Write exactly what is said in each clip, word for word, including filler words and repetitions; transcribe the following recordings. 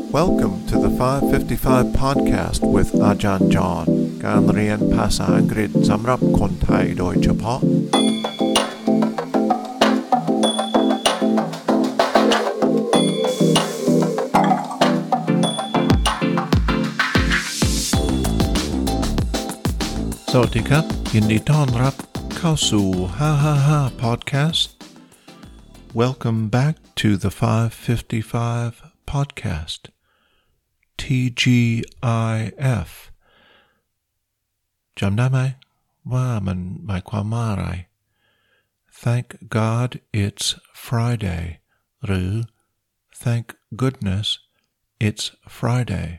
Welcome to the five fifty-five podcast with อาจารย์จอห์นการเรียนภาษาอังกฤษสำหรับคนไทยโดยเฉพาะสวัสดีครับยินดีต้อนรับเข้าสู่ห้าห้าห้า podcast Welcome back to the five fifty-five podcast T G I F จำได้ไหมว่ามันหมายความว่าอะไร Thank God it's Friday หรือ Thank goodness it's Friday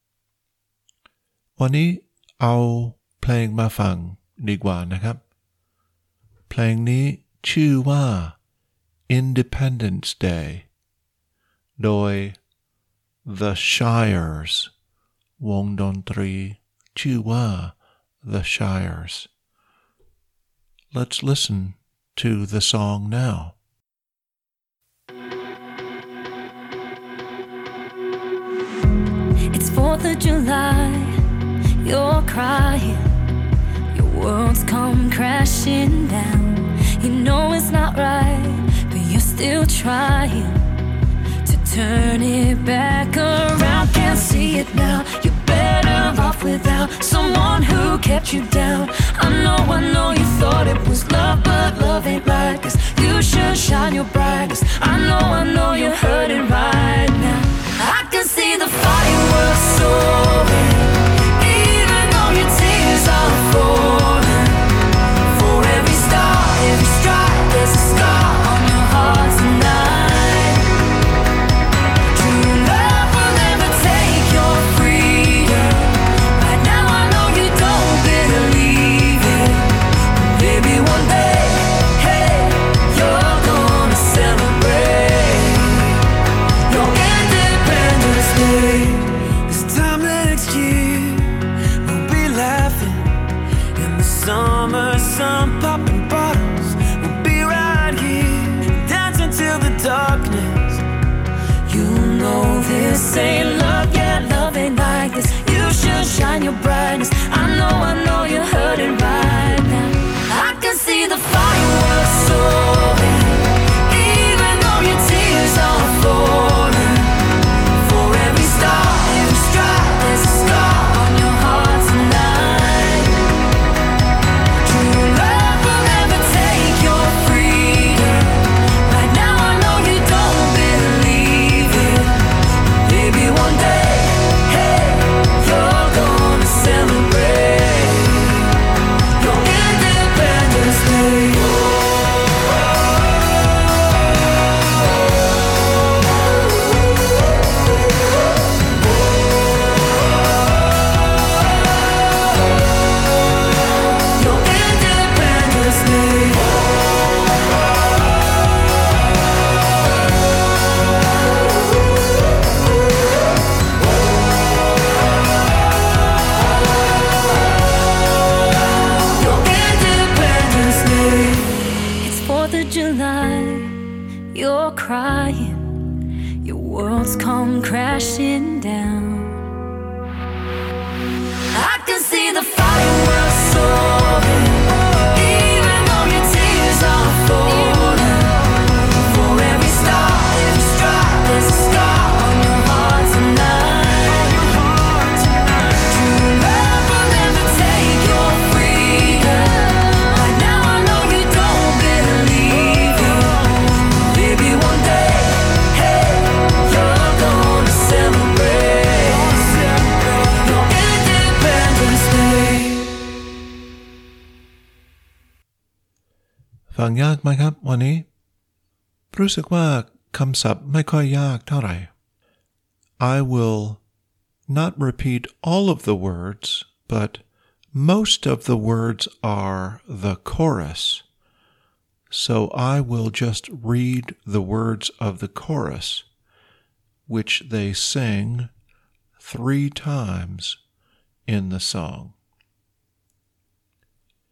วันนี้เอาเพลงมาฟังดีกว่านะครับเพลงนี้ชื่อว่า Independence Day โดย The Shires วงดนตรีชื่อว่า The Shires Let's listen to the song now It's fourth of July You're crying Your world's come crashing down You know it's not right But you're still trying To turn it back around Can't see it now You're better off without Someone who kept you down I know, I know you thought it was love But love ain't right Cause you should shine your brightest I know, I know you're hurting right now I can see the fireworks soaring Your tears are falling For every star, every strike There's a scar on your heart tonight True love will never take your freedom Right now I know you don't believe it Maybe one day, hey You're gonna celebrate Your Independence Day This time next year Summer sun popping bottles We'll be right here Dancing till the darkness You know this ain't love Yeah, love ain't like this You should shine your brightness I know, I know you're hurting right now I can see the fireworks soaring Even though your tears are falling For every star, every strike There's a scar on your heart tonight You're crying Your world's come crashing down I can see the fireworks soaring Even though your tears are falling For every star, every strike There's a scar on your heart tonight True love will never take your freedom Right now I know you don't believe it Maybe one day, hey, you're gonna celebrate Your Independence Day ฟังยากไหมครับวันนี้รู้สึกว่าคำศัพท์ไม่ค่อยยากเท่าไหร่ I will not repeat all of the words but most of the words are the chorus So I will just read the words of the chorus, which they sing three times in the song.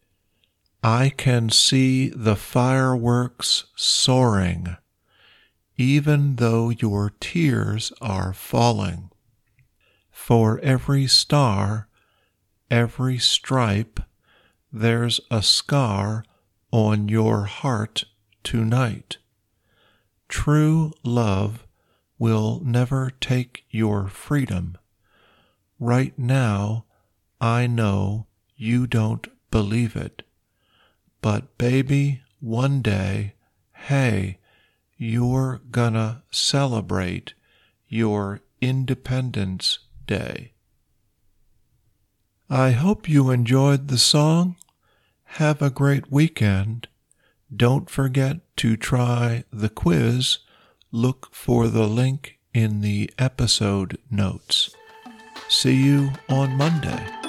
I can see the fireworks soaring even though your tears are falling. For every star, every stripe, there's a scar on your heart tonight. True love will never take your freedom. Right now, I know you don't believe it. But baby, one day, hey, you're gonna celebrate your Independence Day. I hope you enjoyed the song. Have a great weekend. Don't forget to try the quiz. Look for the link in the episode notes. See you on Monday.